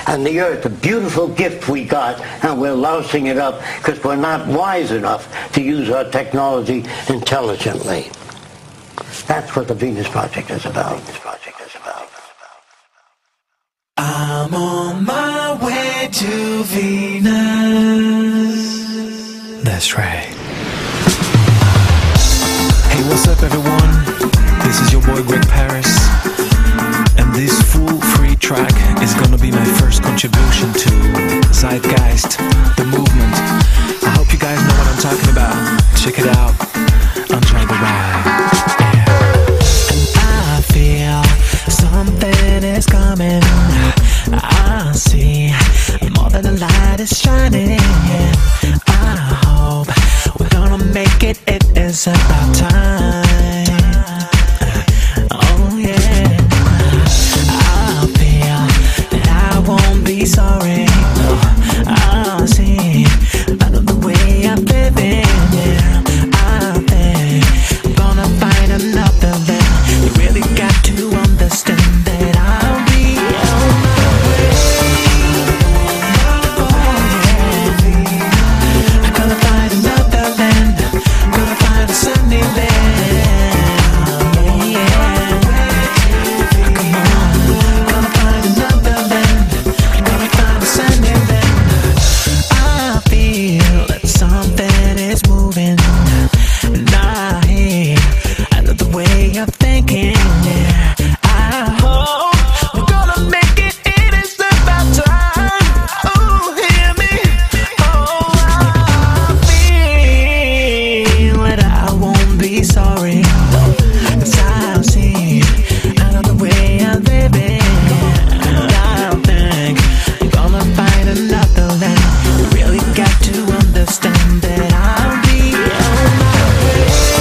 And the earth, a beautiful gift we got, and we're lousing it up because we're not wise enough to use our technology intelligently. That's what the Venus Project is about. I'm on my way to Venus. That's right. Hey, what's up, everyone? This is your boy Greg Paris, and this full free track is gonna be my first contribution to Zeitgeist, the movement. I hope you guys know what I'm talking about. Check it out. Enjoy the ride. I feel something is coming. I see more than the light is shining. I hope we're gonna make it. It is about time. Oh yeah. I feel that I won't be sorry. No, I see out of the way I'm living. Yeah, I think I'm gonna find another man. You really got to understand that I'll be on my way. Oh yeah, I'm gonna find another land. Gonna find a sunny land. Yeah, come on. Gonna find another land. Gonna find a sunny land. I feel that something is moving. And I hear out of the way I'm thinking. Yeah, I hope we're gonna make it. It is about time. Oh, hear me. Oh, I feel that I won't be sorry. 'Cause I've seen out of the way I'm living. And I think I'm gonna find another land. You really got to understand that I'll be on my way.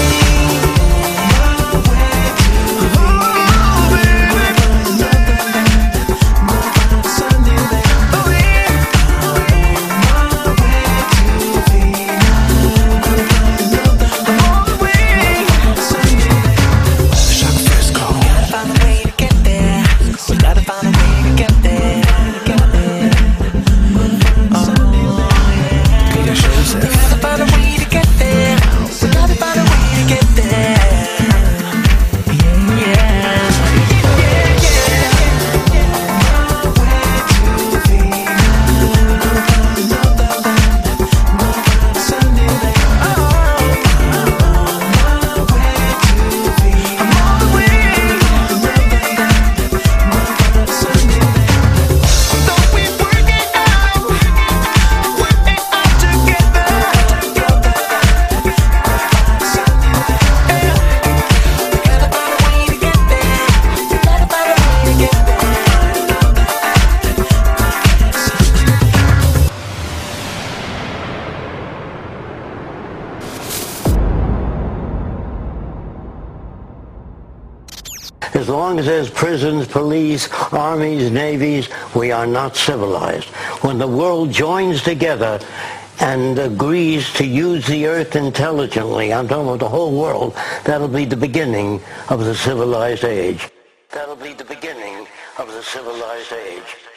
As long as there's prisons, police, armies, navies, we are not civilized. When the world joins together and agrees to use the earth intelligently, I'm talking about the whole world, that'll be the beginning of the civilized age. That'll be the beginning of the civilized age.